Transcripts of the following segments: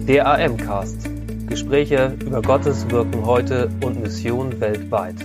Der AM-Cast. Gespräche über Gottes Wirken heute und Mission weltweit.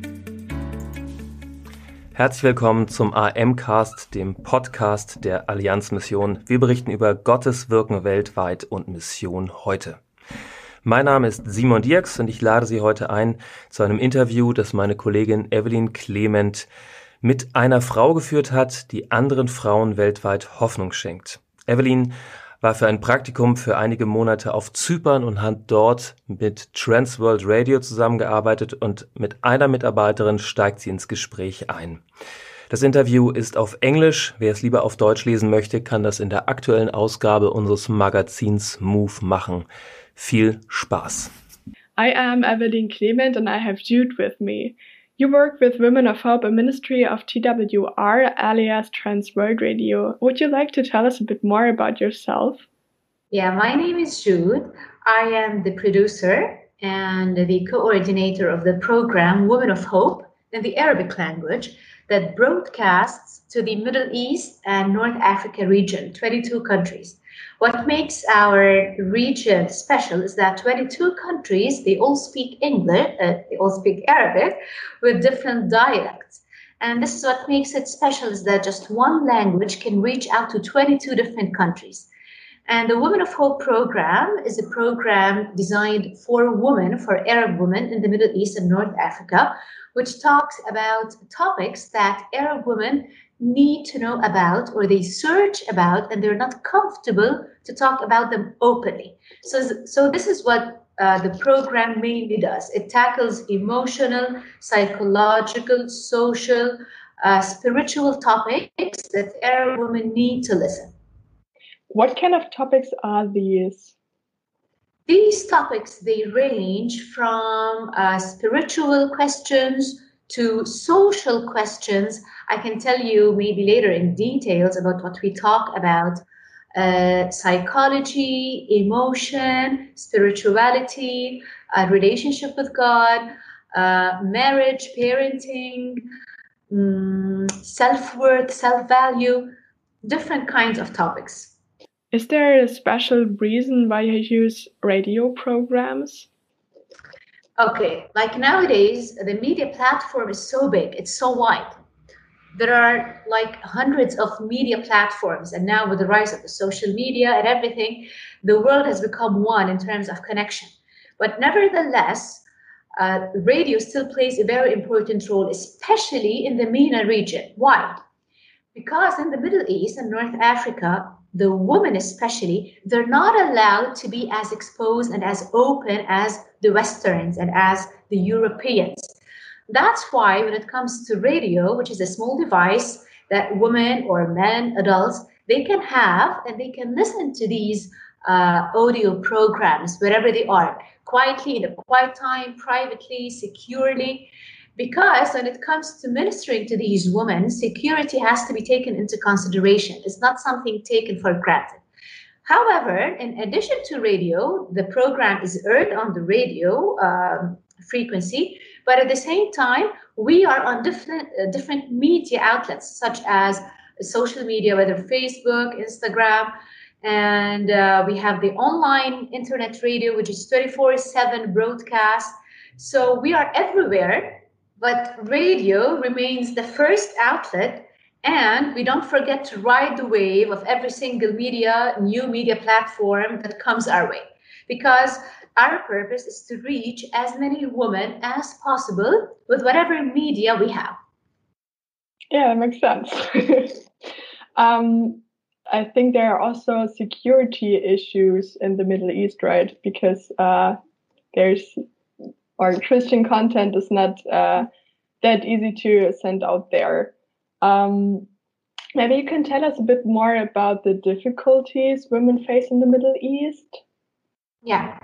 Herzlich willkommen zum AM-Cast, dem Podcast der Allianz-Mission. Wir berichten über Gottes Wirken weltweit und Mission heute. Mein Name ist Simon Dierks und ich lade Sie heute ein zu einem Interview, das meine Kollegin Evelyn Clement mit einer Frau geführt hat, die anderen Frauen weltweit Hoffnung schenkt. Evelyn war für ein Praktikum für einige Monate auf Zypern und hat dort mit Transworld Radio zusammengearbeitet und mit einer Mitarbeiterin steigt sie ins Gespräch ein. Das Interview ist auf Englisch. Wer es lieber auf Deutsch lesen möchte, kann das in der aktuellen Ausgabe unseres Magazins Move machen. Viel Spaß. I am Evelyn Clement and I have Jude with me. You work with Women of Hope, a ministry of TWR, alias Trans World Radio. Would you like to tell us a bit more about yourself? Yeah, my name is Jude. I am the producer and the coordinator of the program Women of Hope in the Arabic language that broadcasts to the Middle East and North Africa region, 22 countries. What makes our region special is that 22 countries, they all speak English, they all speak Arabic with different dialects. And this is what makes it special, is that just one language can reach out to 22 different countries. And the Women of Hope program is a program designed for women, for Arab women in the Middle East and North Africa, which talks about topics that Arab women need to know about, or they search about, and they're not comfortable to talk about them openly. So this is what the program mainly does. It tackles emotional, psychological, social, spiritual topics that Arab women need to listen. What kind of topics are these? These topics, they range from spiritual questions to social questions. I can tell you maybe later in details about what we talk about. Psychology, emotion, spirituality, relationship with God, marriage, parenting, self-worth, self-value, different kinds of topics. Is there a special reason why you use radio programs? Okay, like nowadays, the media platform is so big, it's so wide. There are like hundreds of media platforms, and now with the rise of the social media and everything, the world has become one in terms of connection. But nevertheless, radio still plays a very important role, especially in the MENA region. Why? Because in the Middle East and North Africa, the women especially, they're not allowed to be as exposed and as open as the Westerns and as the Europeans. That's why when it comes to radio, which is a small device that women or men, adults, they can have and they can listen to these audio programs wherever they are, quietly, in a quiet time, privately, securely. Because when it comes to ministering to these women, security has to be taken into consideration. It's not something taken for granted. However, in addition to radio, the program is aired on the radio frequency, but at the same time, we are on different media outlets, such as social media, whether Facebook, Instagram, and we have the online internet radio, which is 24/7 broadcast. So we are everywhere. But radio remains the first outlet, and we don't forget to ride the wave of every single new media platform that comes our way. Because our purpose is to reach as many women as possible with whatever media we have. Yeah, that makes sense. I think there are also security issues in the Middle East, right? Because our Christian content is not that easy to send out there. Maybe you can tell us a bit more about the difficulties women face in the Middle East? Yeah.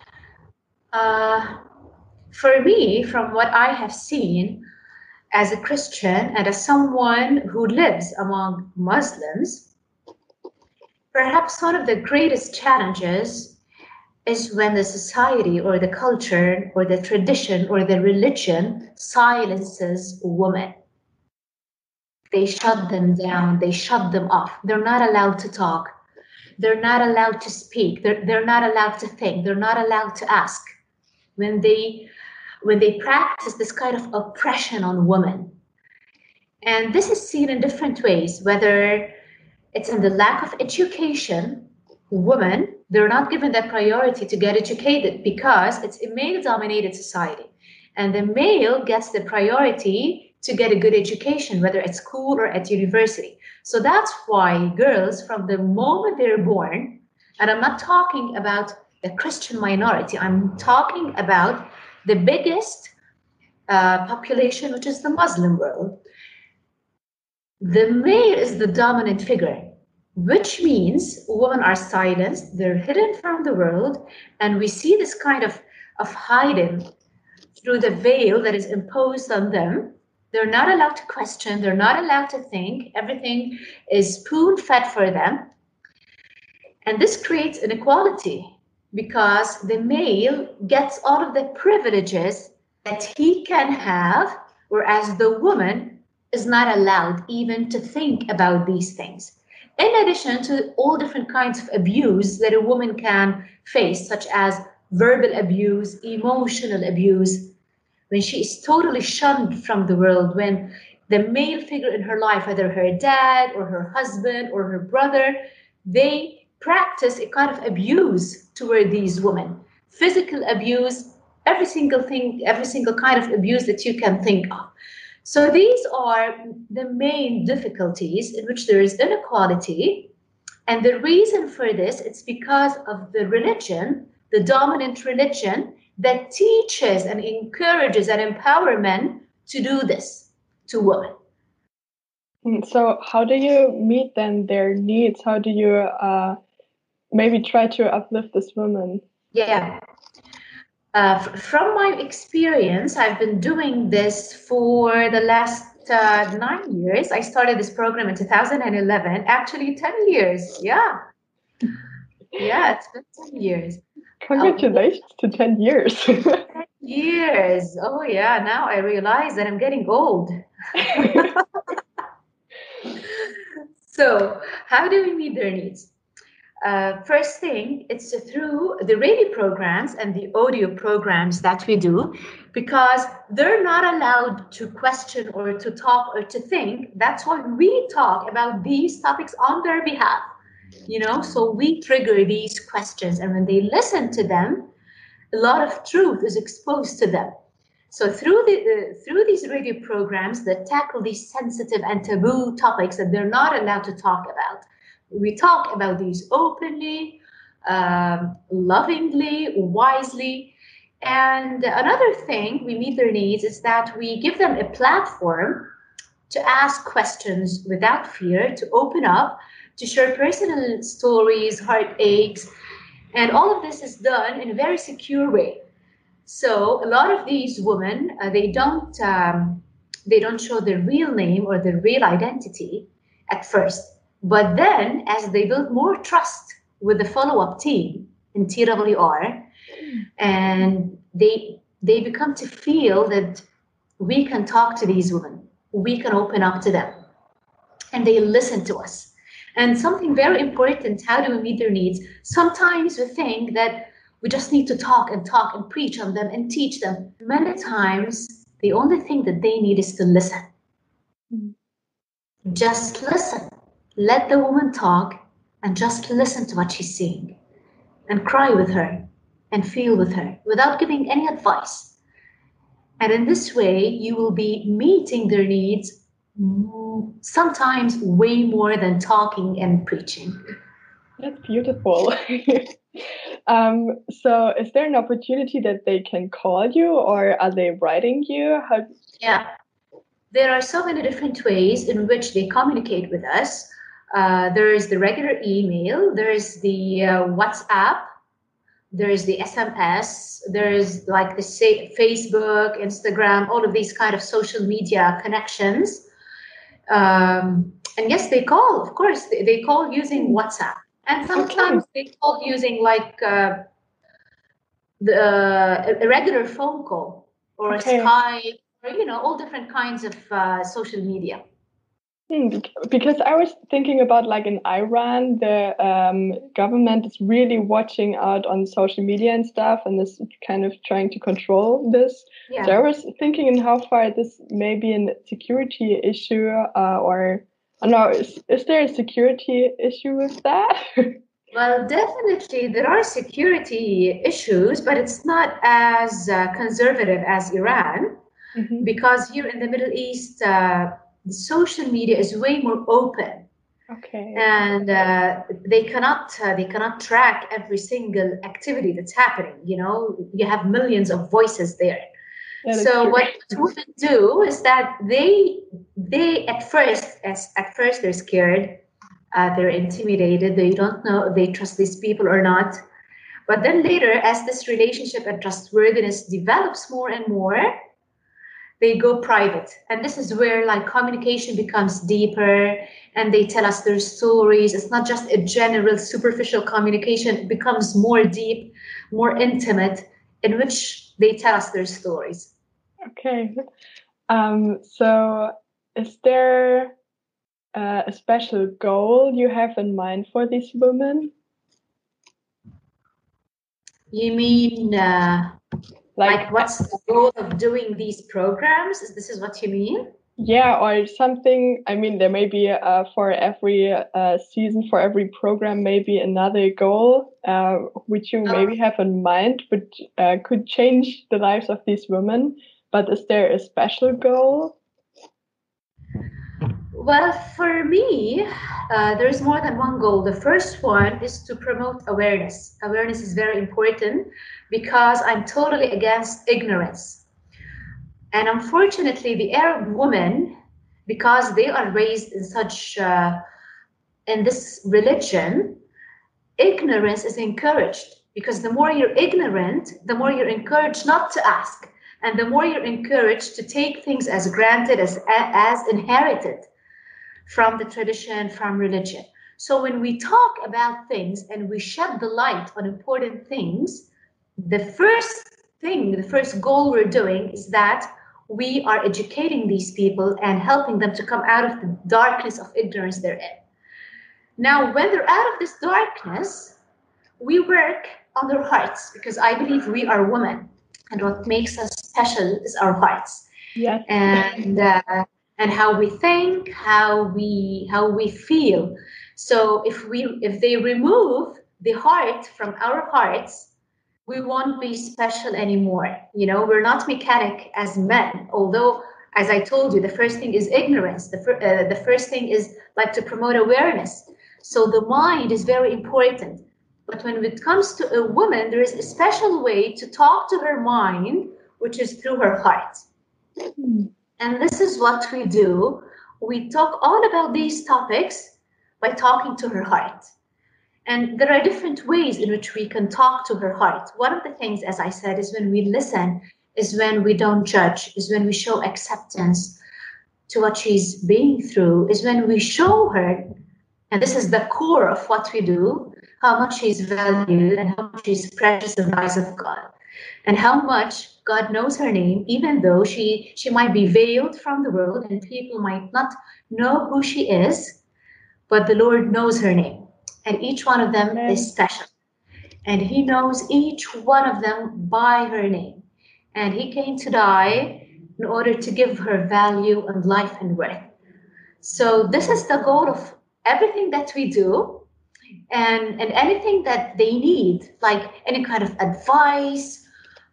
For me, from what I have seen as a Christian and as someone who lives among Muslims, perhaps one of the greatest challenges is when the society or the culture or the tradition or the religion silences women. They shut them down, they shut them off. They're not allowed to talk. they're not allowed to speak. They're not allowed to think. They're not allowed to ask. When they practice this kind of oppression on women. And this is seen in different ways, whether it's in the lack of education. Women, they're not given that priority to get educated because it's a male-dominated society. And the male gets the priority to get a good education, whether at school or at university. So that's why girls, from the moment they're born, and I'm not talking about the Christian minority, I'm talking about the biggest population, which is the Muslim world. The male is the dominant figure, which means women are silenced, they're hidden from the world, and we see this kind of hiding through the veil that is imposed on them. They're not allowed to question, they're not allowed to think, everything is spoon-fed for them. And this creates inequality because the male gets all of the privileges that he can have, whereas the woman is not allowed even to think about these things. In addition to all different kinds of abuse that a woman can face, such as verbal abuse, emotional abuse, when she is totally shunned from the world, when the male figure in her life, whether her dad or her husband or her brother, they practice a kind of abuse toward these women. Physical abuse, every single thing, every single kind of abuse that you can think of. So these are the main difficulties in which there is inequality. And the reason for this, it's because of the religion, the dominant religion, that teaches and encourages and empowers men to do this to women. So how do you meet then their needs? How do you maybe try to uplift this woman? Yeah. From my experience, I've been doing this for the last 9 years. I started this program in 2011, actually 10 years. Yeah. Yeah, it's been 10 years. Congratulations to 10 years. 10 years. Oh, yeah. Now I realize that I'm getting old. So how do we meet their needs? First thing, it's through the radio programs and the audio programs that we do, because they're not allowed to question or to talk or to think. That's why we talk about these topics on their behalf. So we trigger these questions, and when they listen to them, a lot of truth is exposed to them. So through these radio programs that tackle these sensitive and taboo topics that they're not allowed to talk about, we talk about these openly, lovingly, wisely. And another thing, we meet their needs, is that we give them a platform to ask questions without fear, to open up, to share personal stories, heartaches, and all of this is done in a very secure way. So a lot of these women, they don't show their real name or their real identity at first. But then, as they build more trust with the follow-up team in TWR, and they become to feel that we can talk to these women, we can open up to them, and they listen to us. And something very important, how do we meet their needs? Sometimes we think that we just need to talk and preach on them and teach them. Many times, the only thing that they need is to listen. Just listen. Let the woman talk and just listen to what she's saying and cry with her and feel with her without giving any advice. And in this way, you will be meeting their needs sometimes way more than talking and preaching. That's beautiful. So is there an opportunity that they can call you, or are they writing you? Yeah, there are so many different ways in which they communicate with us. There is the regular email, there is the WhatsApp, there is the SMS, there is like the Facebook, Instagram, all of these kind of social media connections. And yes, they call, of course, they call using WhatsApp. And sometimes they call using like a regular phone call or a Skype, or all different kinds of social media. Because I was thinking about like in Iran, the government is really watching out on social media and stuff, and is kind of trying to control this. Yeah. So I was thinking in how far this may be a security issue, or I don't know, is there a security issue with that? Well, definitely there are security issues, but it's not as conservative as Iran, because here in the Middle East, social media is way more open. Okay. And they cannot track every single activity that's happening. You know, you have millions of voices there. Yeah, so what women do is that they at first they're scared, they're intimidated, they don't know if they trust these people or not. But then later, as this relationship and trustworthiness develops more and more, they go private. And this is where like communication becomes deeper, and they tell us their stories. It's not just a general superficial communication. It becomes more deep, more intimate, in which they tell us their stories. Okay. So is there a special goal you have in mind for these women? You mean like what's the goal of doing these programs? This is what you mean? Yeah, or something. I mean, there may be for every season, for every program, maybe another goal which you maybe have in mind, which could change the lives of these women. But is there a special goal? Well, for me, there's more than one goal. The first one is to promote awareness. Awareness is very important because I'm totally against ignorance. And unfortunately, the Arab women, because they are raised in such in this religion, ignorance is encouraged. Because the more you're ignorant, the more you're encouraged not to ask, and the more you're encouraged to take things as granted, as inherited from the tradition, from religion. So when we talk about things and we shed the light on important things, the first goal we're doing is that we are educating these people and helping them to come out of the darkness of ignorance they're in. Now, when they're out of this darkness, we work on their hearts, because I believe we are women, and what makes us special is our hearts. Yes. And how we think, how we feel. So if they remove the heart from our hearts, we won't be special anymore. You know, we're not mechanic as men. Although, as I told you, the first thing is ignorance. The first thing is like to promote awareness. So the mind is very important. But when it comes to a woman, there is a special way to talk to her mind, which is through her heart. And this is what we do. We talk all about these topics by talking to her heart. And there are different ways in which we can talk to her heart. One of the things, as I said, is when we listen, is when we don't judge, is when we show acceptance to what she's being through, is when we show her, and this is the core of what we do, how much she's valued and how much she's precious in the eyes of God. And how much God knows her name, even though she might be veiled from the world and people might not know who she is, but the Lord knows her name. And each one of them is special. And he knows each one of them by her name. And he came to die in order to give her value and life and worth. So this is the goal of everything that we do. And anything that they need, like any kind of advice,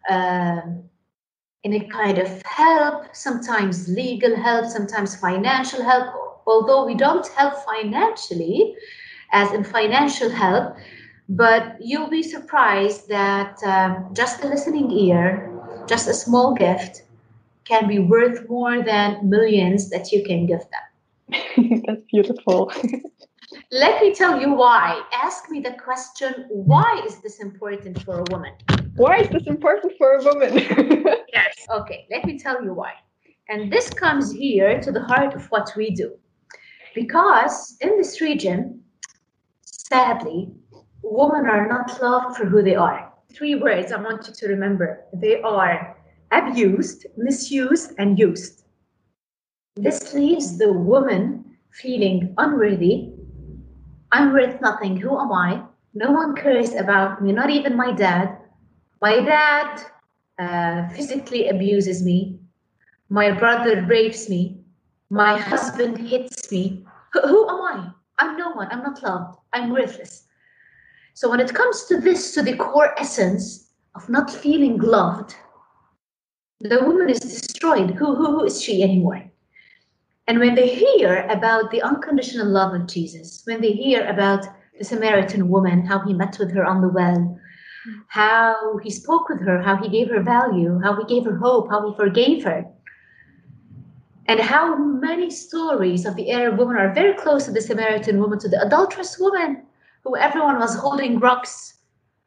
any kind of help, sometimes legal help, sometimes financial help. Although we don't help financially, as in financial help, but you'll be surprised that just a listening ear, just a small gift, can be worth more than millions that you can give them. That's beautiful. Let me tell you why. Ask me the question, why is this important for a woman? Why is this important for a woman? Yes. Okay, let me tell you why. And this comes here to the heart of what we do. Because in this region, sadly, women are not loved for who they are. 3 words I want you to remember. They are abused, misused, and used. This leaves the woman feeling unworthy. I'm worth nothing. Who am I? No one cares about me, not even my dad. My dad physically abuses me. My brother rapes me. My husband hits me. Who am I? I'm no one. I'm not loved. I'm worthless. So when it comes to this, to the core essence of not feeling loved, the woman is destroyed. Who is she anymore? And when they hear about the unconditional love of Jesus, when they hear about the Samaritan woman, how he met with her on the well, how he spoke with her, how he gave her value, how he gave her hope, how he forgave her, and how many stories of the Arab woman are very close to the Samaritan woman, to the adulterous woman, who everyone was holding rocks,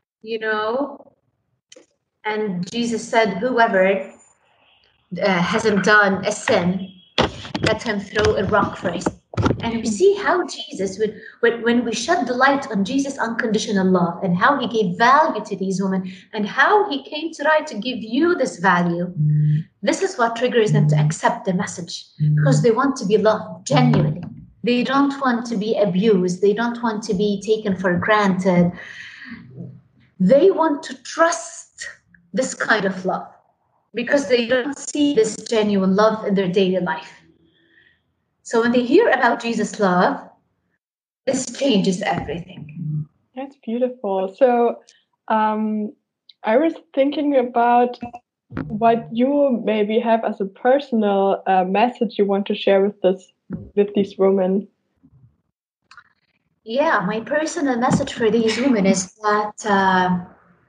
and Jesus said, whoever hasn't done a sin, let him throw a rock first. And we see how Jesus, when we shed the light on Jesus' unconditional love and how he gave value to these women and how he came to try to give you this value, this is what triggers them to accept the message, because they want to be loved genuinely. They don't want to be abused. They don't want to be taken for granted. They want to trust this kind of love because they don't see this genuine love in their daily life. So when they hear about Jesus' love, this changes everything. That's beautiful. So I was thinking about what you maybe have as a personal message you want to share with these women. Yeah, my personal message for these women is that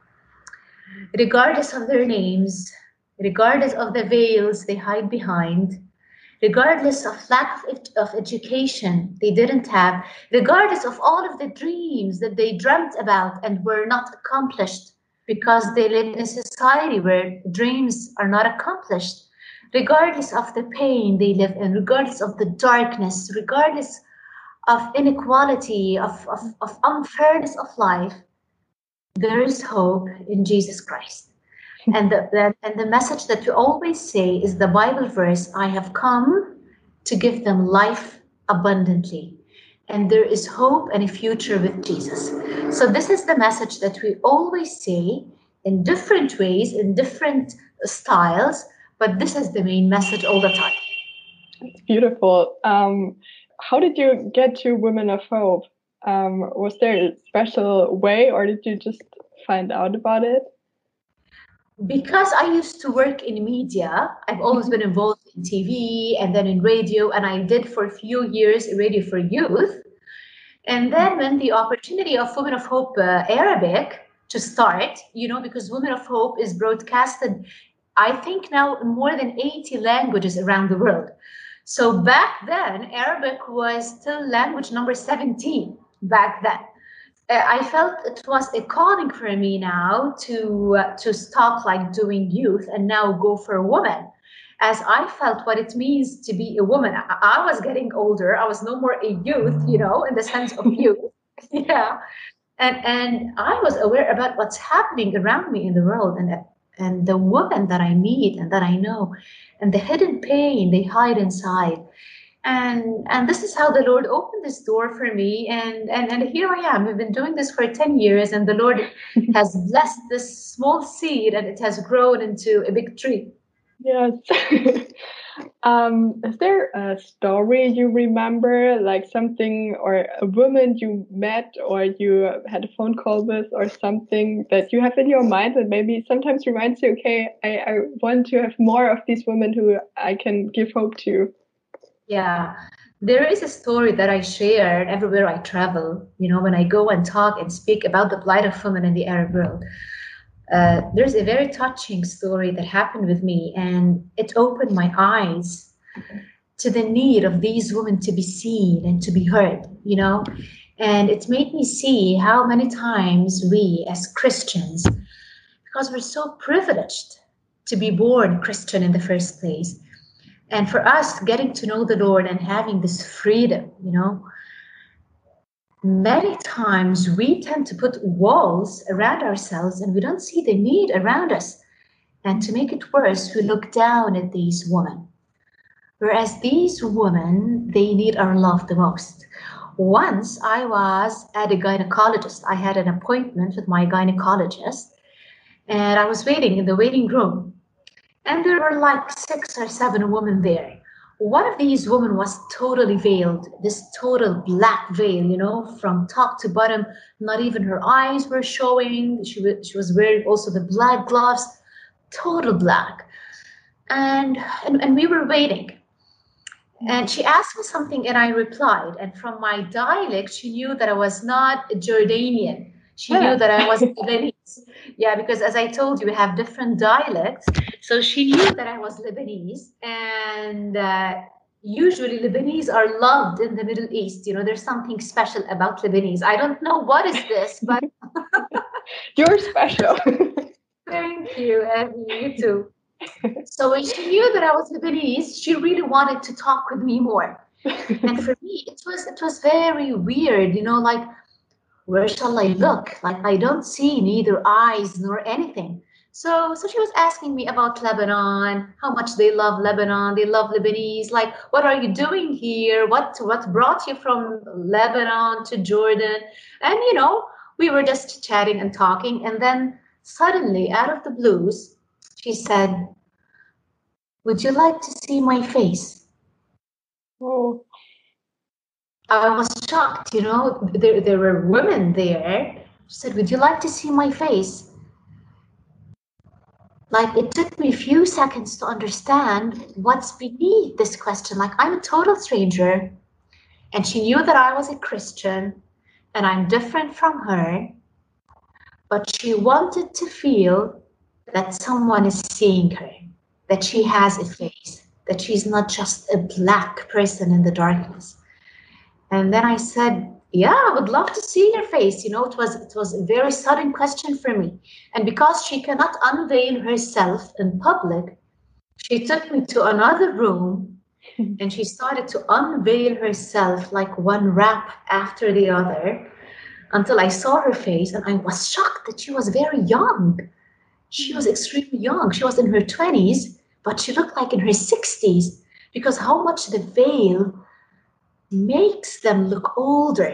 regardless of their names, regardless of the veils they hide behind, regardless of lack of education they didn't have, regardless of all of the dreams that they dreamt about and were not accomplished because they live in a society where dreams are not accomplished, regardless of the pain they live in, regardless of the darkness, regardless of inequality, of unfairness of life, there is hope in Jesus Christ. And the message that we always say is the Bible verse, I have come to give them life abundantly. And there is hope and a future with Jesus. So this is the message that we always say in different ways, in different styles, but this is the main message all the time. It's beautiful. How did you get to Women of Hope? Was there a special way, or did you just find out about it? Because I used to work in media, I've always been involved in TV and then in radio, and I did for a few years radio for youth. And then when the opportunity of Women of Hope Arabic to start, because Women of Hope is broadcasted, I think now in more than 80 languages around the world. So back then, Arabic was still language number 17 back then. I felt it was a calling for me now to stop like doing youth and now go for a woman, as I felt what it means to be a woman. I was getting older. I was no more a youth, in the sense of youth. Yeah. And I was aware about what's happening around me in the world and the women that I meet and that I know and the hidden pain they hide inside. And this is how the Lord opened this door for me. And here I am. We've been doing this for 10 years, and the Lord has blessed this small seed, and it has grown into a big tree. Yes. Is there a story you remember, like something or a woman you met or you had a phone call with or something that you have in your mind that maybe sometimes reminds you, okay, I want to have more of these women who I can give hope to? Yeah, there is a story that I share everywhere I travel, when I go and talk and speak about the plight of women in the Arab world. There's a very touching story that happened with me, and it opened my eyes to the need of these women to be seen and to be heard, and it made me see how many times we as Christians, because we're so privileged to be born Christian in the first place, and for us getting to know the Lord and having this freedom, many times we tend to put walls around ourselves and we don't see the need around us. And to make it worse, we look down at these women. Whereas these women, they need our love the most. Once I was at a gynecologist. I had an appointment with my gynecologist, and I was waiting in the waiting room. And there were like 6 or 7 women there. One of these women was totally veiled, this total black veil, from top to bottom. Not even her eyes were showing. She was wearing also the black gloves, total black. And we were waiting. And she asked me something and I replied. And from my dialect, she knew that I was not Jordanian. She knew that I was Lebanese. Yeah, because as I told you, we have different dialects. So she knew that I was Lebanese. And usually Lebanese are loved in the Middle East. There's something special about Lebanese. I don't know what is this, but... You're special. Thank you, Abby. You too. So when she knew that I was Lebanese, she really wanted to talk with me more. And for me, it was very weird, like, where shall I look? Like, I don't see neither eyes nor anything. So she was asking me about Lebanon, how much they love Lebanon, they love Lebanese. Like, what are you doing here? What brought you from Lebanon to Jordan? And, we were just chatting and talking. And then suddenly, out of the blues, she said, "Would you like to see my face?" Oh. I was shocked, there were women there. She said, "Would you like to see my face?" Like, it took me a few seconds to understand what's beneath this question. Like, I'm a total stranger, and she knew that I was a Christian, and I'm different from her, but she wanted to feel that someone is seeing her, that she has a face, that she's not just a black person in the darkness. And then I said, "Yeah, I would love to see your face." It was a very sudden question for me. And because she cannot unveil herself in public, she took me to another room and she started to unveil herself like one wrap after the other until I saw her face, and I was shocked that she was very young. She was extremely young. She was in her 20s, but she looked like in her 60s because how much the veil makes them look older,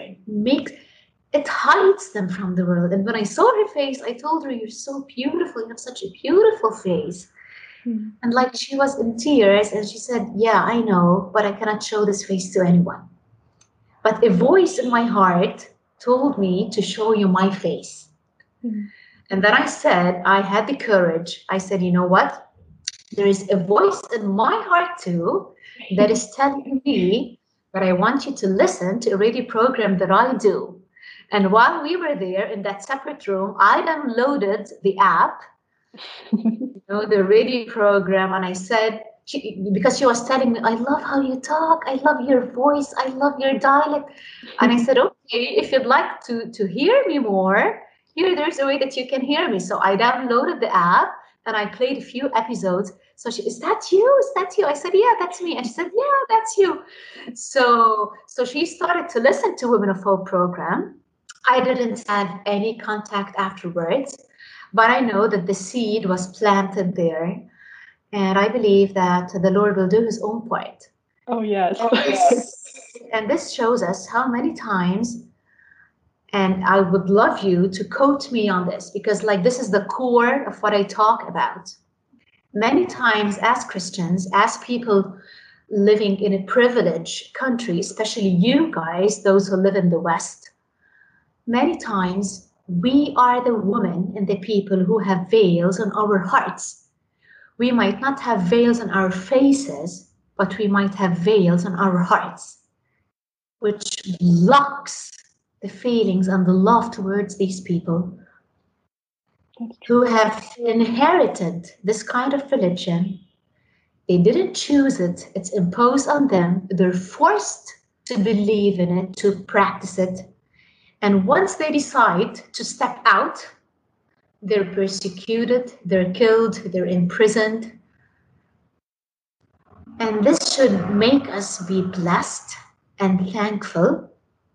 it hides them from the world. And when I saw her face, I told her, "You're so beautiful. You have such a beautiful face." And like, she was in tears and she said, "Yeah, I know, but I cannot show this face to anyone. But a voice in my heart told me to show you my face." And then I had the courage. I said, "You know what? There is a voice in my heart too that is telling me but I want you to listen to a radio program that I do." And while we were there in that separate room, I downloaded the app, the radio program, and I said, because she was telling me, "I love how you talk, I love your voice, I love your dialect." And I said, "Okay, if you'd like to hear me more, there's a way that you can hear me." So I downloaded the app and I played a few episodes. So "Is that you? Is that you?" I said, "Yeah, that's me." And she said, "Yeah, that's you." So she started to listen to Women of Hope program. I didn't have any contact afterwards, but I know that the seed was planted there. And I believe that the Lord will do his own part. Oh, yes. And this shows us how many times, and I would love you to quote me on this, because this is the core of what I talk about. Many times as Christians, as people living in a privileged country, especially you guys, those who live in the West, many times we are the women and the people who have veils on our hearts. We might not have veils on our faces, but we might have veils on our hearts, which blocks the feelings and the love towards these people who have inherited this kind of religion. They didn't choose it. It's imposed on them. They're forced to believe in it, to practice it. And once they decide to step out, they're persecuted, they're killed, they're imprisoned. And this should make us be blessed and thankful,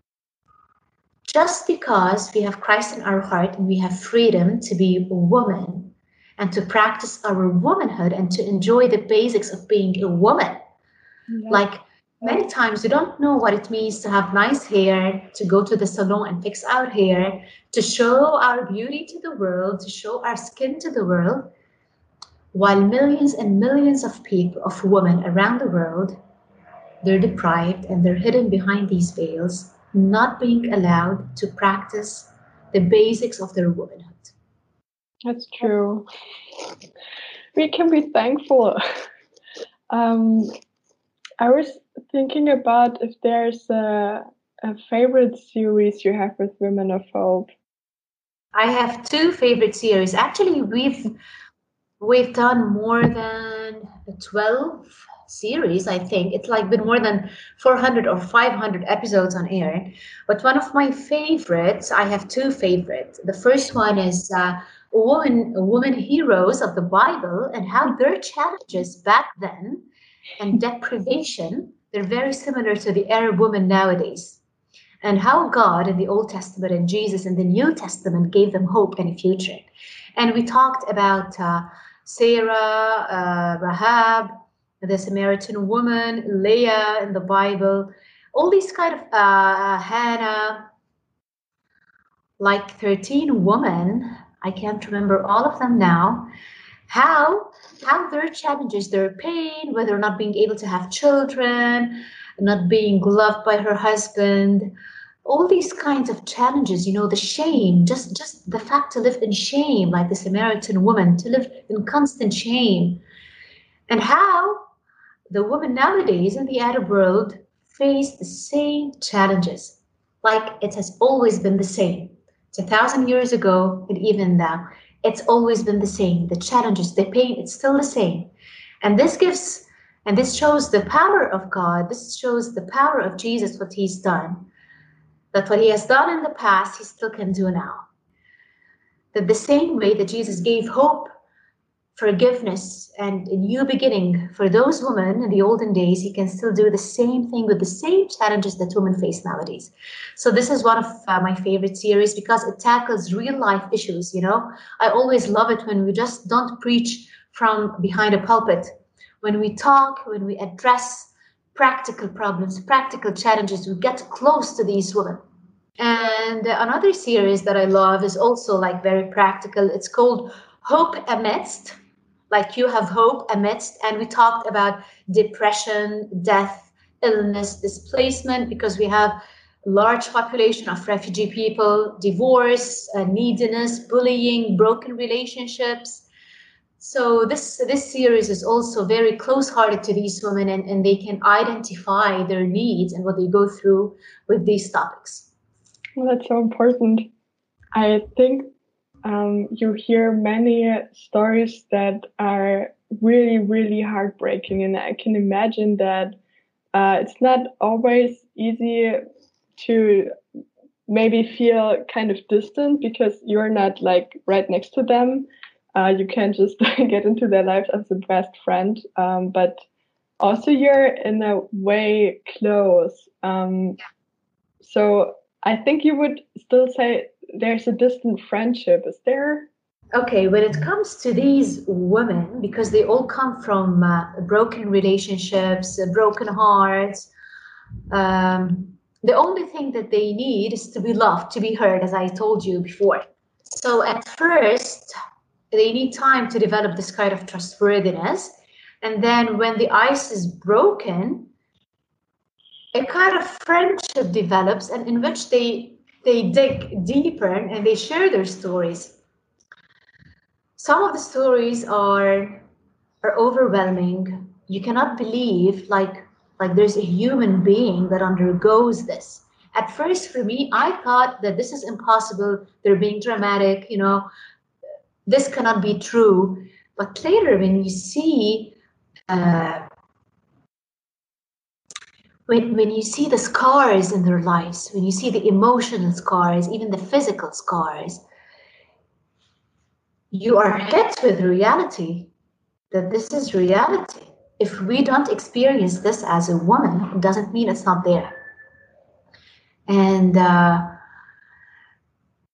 just because we have Christ in our heart and we have freedom to be a woman and to practice our womanhood and to enjoy the basics of being a woman. Yeah. Like many times we don't know what it means to have nice hair, to go to the salon and fix our hair, to show our beauty to the world, to show our skin to the world, while millions and millions of people, of women around the world, they're deprived and they're hidden behind these veils, not being allowed to practice the basics of their womanhood. That's true. We can be thankful. I was thinking about if there's a favorite series you have with Women of Hope. I have two favorite series. Actually, we've done more than 12 series, I think. It's like been more than 400 or 500 episodes on air. But one of my favorites, I have two favorites. The first one is women heroes of the Bible and how their challenges back then and deprivation, they're very similar to the Arab women nowadays. And how God in the Old Testament and Jesus in the New Testament gave them hope and a future. And we talked about Sarah, Rahab, the Samaritan woman, Leah in the Bible, all these kind of Hannah, like 13 women, I can't remember all of them now, how their challenges, their pain, whether not being able to have children, not being loved by her husband, all these kinds of challenges, the shame, just the fact to live in shame, like the Samaritan woman, to live in constant shame. And how the women nowadays in the Arab world face the same challenges, like it has always been the same. It's 1,000 years ago, and even now, it's always been the same. The challenges, the pain, it's still the same. And this shows the power of God. This shows the power of Jesus, what he's done. That what he has done in the past, he still can do now. That the same way that Jesus gave hope, forgiveness, and a new beginning for those women in the olden days, he can still do the same thing with the same challenges that women face nowadays. So this is one of my favorite series because it tackles real life issues. I always love it when we just don't preach from behind a pulpit. When we talk, when we address practical problems, practical challenges, we get close to these women. And another series that I love is also like very practical. It's called Hope Amidst, like you have hope amidst. And we talked about depression, death, illness, displacement, because we have a large population of refugee people, divorce, neediness, bullying, broken relationships. So this series is also very close-hearted to these women, and they can identify their needs and what they go through with these topics. Well, that's so important. I think you hear many stories that are really, really heartbreaking, and I can imagine that it's not always easy to maybe feel kind of distant because you're not like right next to them. You can't just get into their lives as a best friend, but also you're in a way close. So I think you would still say there's a distant friendship. Is there? Okay, when it comes to these women, because they all come from broken relationships, broken hearts, the only thing that they need is to be loved, to be heard, as I told you before. So at first, they need time to develop this kind of trustworthiness. And then when the ice is broken, a kind of friendship develops, and in which they dig deeper and they share their stories. Some of the stories are overwhelming. You cannot believe like there's a human being that undergoes this. At first, for me, I thought that this is impossible. They're being dramatic, this cannot be true. But later, when you see when you see the scars in their lives, when you see the emotional scars, even the physical scars, you are hit with reality, that this is reality. If we don't experience this as a woman, it doesn't mean it's not there. And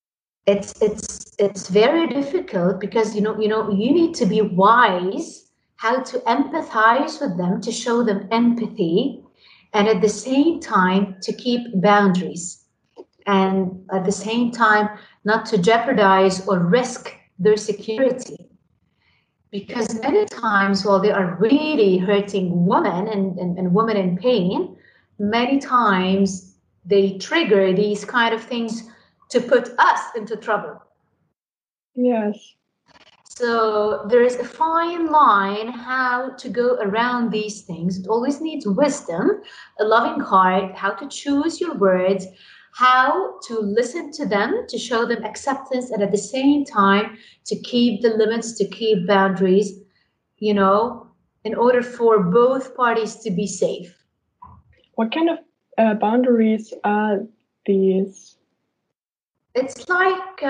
it's very difficult because you need to be wise how to empathize with them, to show them empathy, and at the same time to keep boundaries, and at the same time not to jeopardize or risk their security. Because many times, while they are really hurting women and women in pain, many times they trigger these kind of things to put us into trouble. Yes. So there is a fine line how to go around these things. It always needs wisdom, a loving heart, how to choose your words, how to listen to them, to show them acceptance, and at the same time to keep the limits, to keep boundaries, in order for both parties to be safe. What kind of boundaries are these? It's like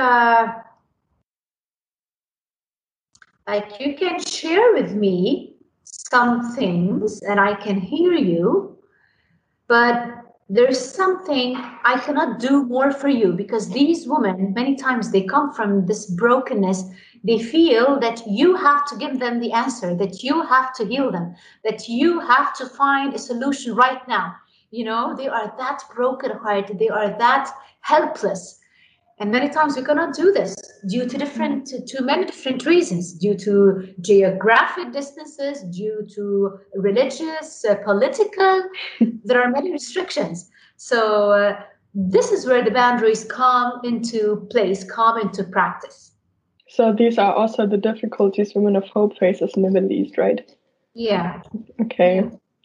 you can share with me some things and I can hear you, but there's something I cannot do more for you, because these women, many times they come from this brokenness. They feel that you have to give them the answer, that you have to heal them, that you have to find a solution right now. They are that brokenhearted, they are that helpless. And many times we cannot do this due to many different reasons, due to geographic distances, due to religious, political. There are many restrictions. So this is where the boundaries come into place, come into practice. So these are also the difficulties Women of Hope faces in the Middle East, right? Yeah. Okay.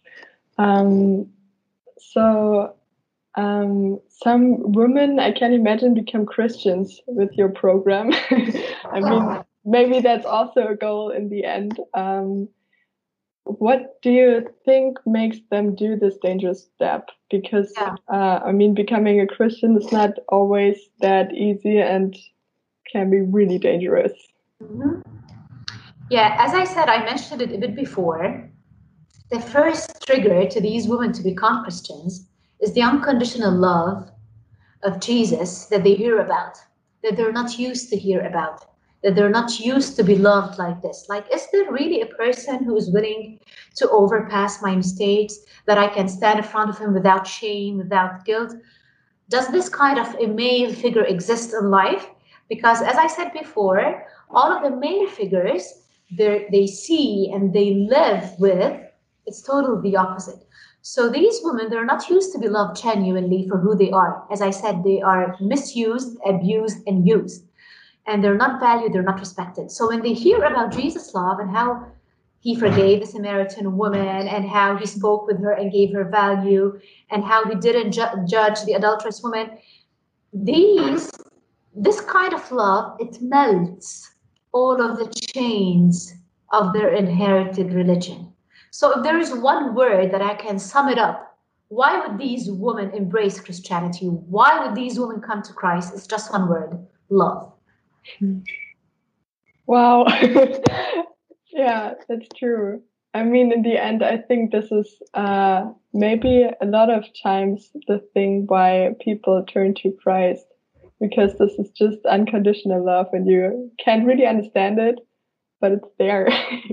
Some women, I can imagine, become Christians with your program. I mean, maybe that's also a goal in the end. What do you think makes them do this dangerous step? Because, becoming a Christian is not always that easy and can be really dangerous. Mm-hmm. Yeah, as I said, I mentioned it a bit before. The first trigger to these women to become Christians is the unconditional love of Jesus that they hear about, that they're not used to hear about, that they're not used to be loved like this. Like, is there really a person who is willing to overpass my mistakes, that I can stand in front of him without shame, without guilt? Does this kind of a male figure exist in life? Because as I said before, all of the male figures they see and they live with, it's totally the opposite. So these women, they're not used to be loved genuinely for who they are. As I said, they are misused, abused, and used. And they're not valued, they're not respected. So when they hear about Jesus' love and how he forgave the Samaritan woman and how he spoke with her and gave her value and how he didn't judge the adulterous woman, this kind of love, it melts all of the chains of their inherited religion. So if there is one word that I can sum it up, why would these women embrace Christianity? Why would these women come to Christ? It's just one word: love. Wow. Yeah, that's true. I mean, in the end, I think this is maybe a lot of times the thing why people turn to Christ, because this is just unconditional love and you can't really understand it, but it's there.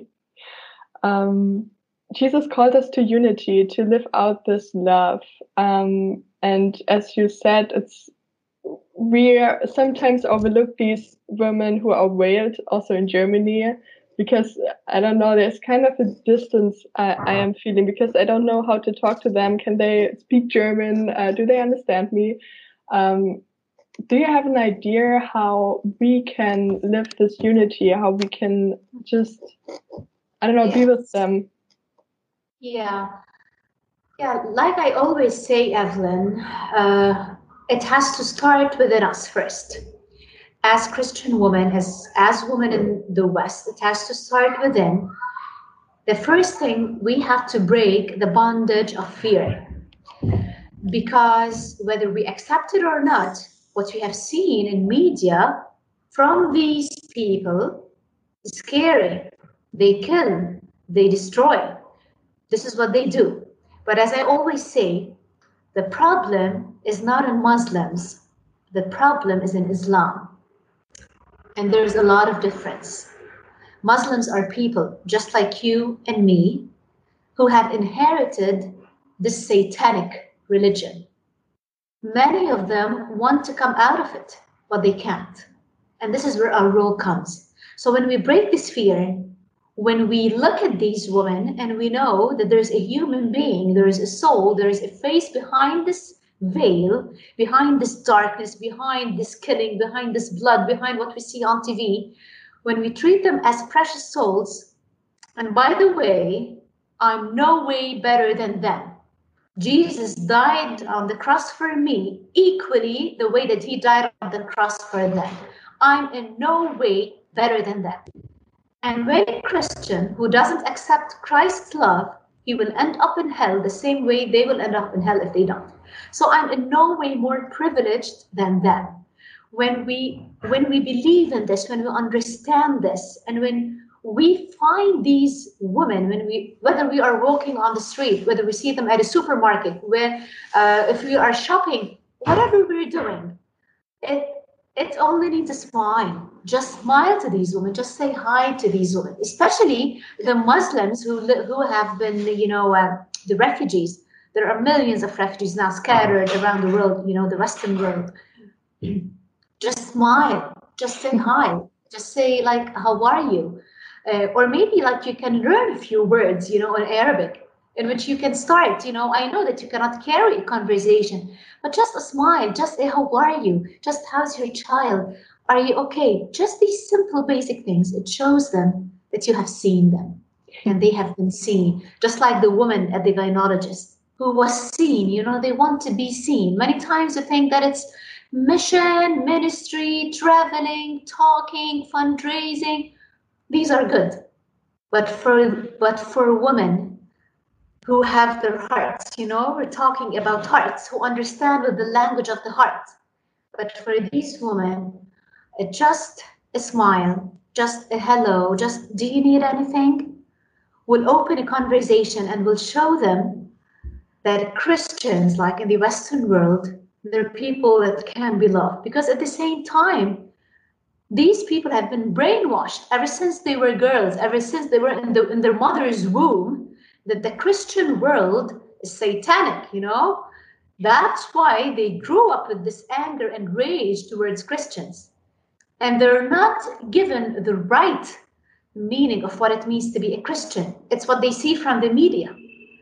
Jesus called us to unity, to live out this love. And as you said, we sometimes overlook these women who are veiled, also in Germany, because I don't know, there's kind of a distance I am feeling, because I don't know how to talk to them. Can they speak German? Do they understand me? Do you have an idea how we can live this unity, how we can just, be with them? Yeah, like I always say, Evelyn, it has to start within us first. As Christian women, as women in the West, it has to start within. The first thing, we have to break the bondage of fear. Because whether we accept it or not, what we have seen in media from these people is scary. They kill, they destroy. This is what they do. But as I always say, the problem is not in Muslims. The problem is in Islam. And there's a lot of difference. Muslims are people just like you and me who have inherited this satanic religion. Many of them want to come out of it, but they can't. And this is where our role comes. So when we break this fear, when we look at these women and we know that there's a human being, there is a soul, there is a face behind this veil, behind this darkness, behind this killing, behind this blood, behind what we see on TV, when we treat them as precious souls, and by the way, I'm no way better than them. Jesus died on the cross for me equally the way that he died on the cross for them. I'm in no way better than them. And when a Christian who doesn't accept Christ's love, he will end up in hell the same way they will end up in hell if they don't. So I'm in no way more privileged than them. When we believe in this, when we understand this, and when we find these women, whether we are walking on the street, whether we see them at a supermarket, if we are shopping, whatever we're doing, it only needs a smile. Just smile to these women. Just say hi to these women, especially the Muslims who have been, the refugees. There are millions of refugees now scattered around the world, the Western world. Just smile. Just say hi. Just say, like, how are you? Or maybe, like, you can learn a few words, in Arabic, in which you can start. I know that you cannot carry a conversation, but just a smile, just a how are you? Just how's your child? Are you okay? Just these simple basic things. It shows them that you have seen them and they have been seen. Just like the woman at the gynecologist who was seen, they want to be seen. Many times you think that it's mission, ministry, traveling, talking, fundraising. These are good. But for women who have their hearts, we're talking about hearts, who understand with the language of the heart. But for these women, just a smile, just a hello, just do you need anything? Will open a conversation and will show them that Christians, like in the Western world, they're people that can be loved. Because at the same time, these people have been brainwashed ever since they were girls, ever since they were in their mother's womb, that the Christian world is satanic, That's why they grew up with this anger and rage towards Christians. And they're not given the right meaning of what it means to be a Christian. It's what they see from the media.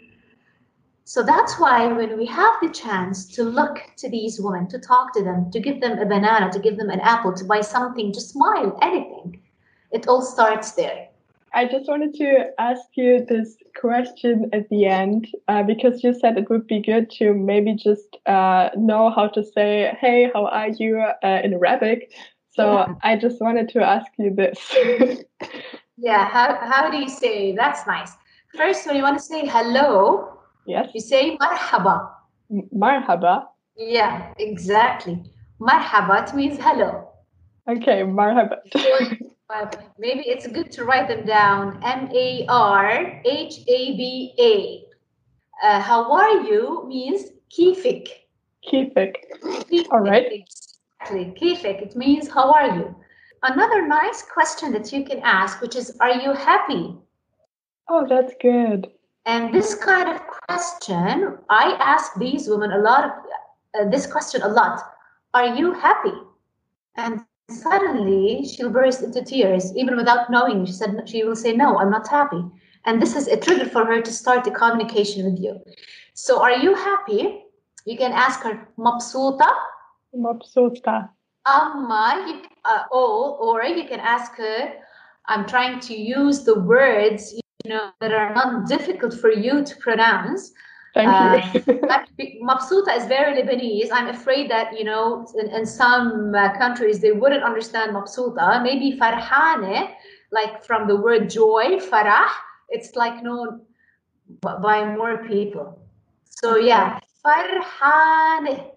So that's why when we have the chance to look to these women, to talk to them, to give them a banana, to give them an apple, to buy something, to smile, anything, it all starts there. I just wanted to ask you this question at the end, because you said it would be good to maybe just know how to say, hey, how are you in Arabic? So yeah. I just wanted to ask you this. Yeah, how do you say? That's nice. First, when you want to say hello, yes, you say marhaba. Marhaba? Yeah, exactly. Marhaba, it means hello. Okay, marhaba. Maybe it's good to write them down. marhaba. How are you means kifik. Kifik. All right. Exactly. Kifik. It means how are you? Another nice question that you can ask, which is, are you happy? Oh, that's good. And this kind of question, I ask these women this question a lot. Are you happy? And suddenly she'll burst into tears, even without knowing. She will say, no, I'm not happy. And this is a trigger for her to start the communication with you. So are you happy? You can ask her, mabsuta? Mabsuta. Amma, or you can ask her, I'm trying to use the words, that are not difficult for you to pronounce. Thank you. Mabsuta is very Lebanese. I'm afraid that, in some countries, they wouldn't understand mabsuta. Maybe farhane, like from the word joy, farah, it's like known by more people. So yeah, farhane,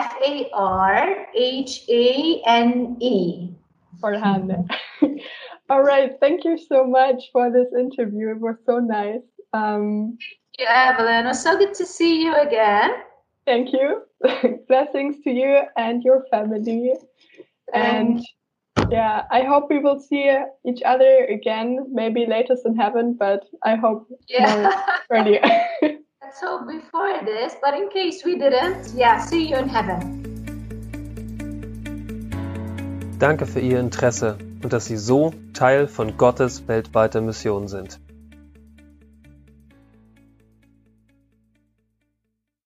Farhane. Farhane. All right. Thank you so much for this interview. It was so nice. Yeah, Evelyn, it was so good to see you again. Thank you. Blessings to you and your family. And Yeah, I hope we will see each other again, maybe latest in heaven, but I hope more earlier. Let's hope before this, but in case we didn't, see you in heaven. Danke für Ihr Interesse und dass Sie so Teil von Gottes weltweiter Mission sind.